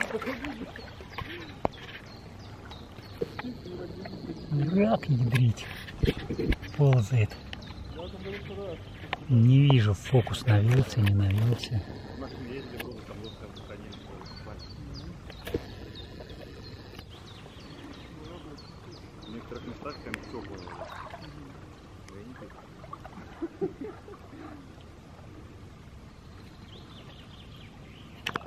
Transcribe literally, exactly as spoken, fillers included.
Рак ядрить. Ползает. Не вижу, фокус навелся, не навелся. В некоторых местах прям все было.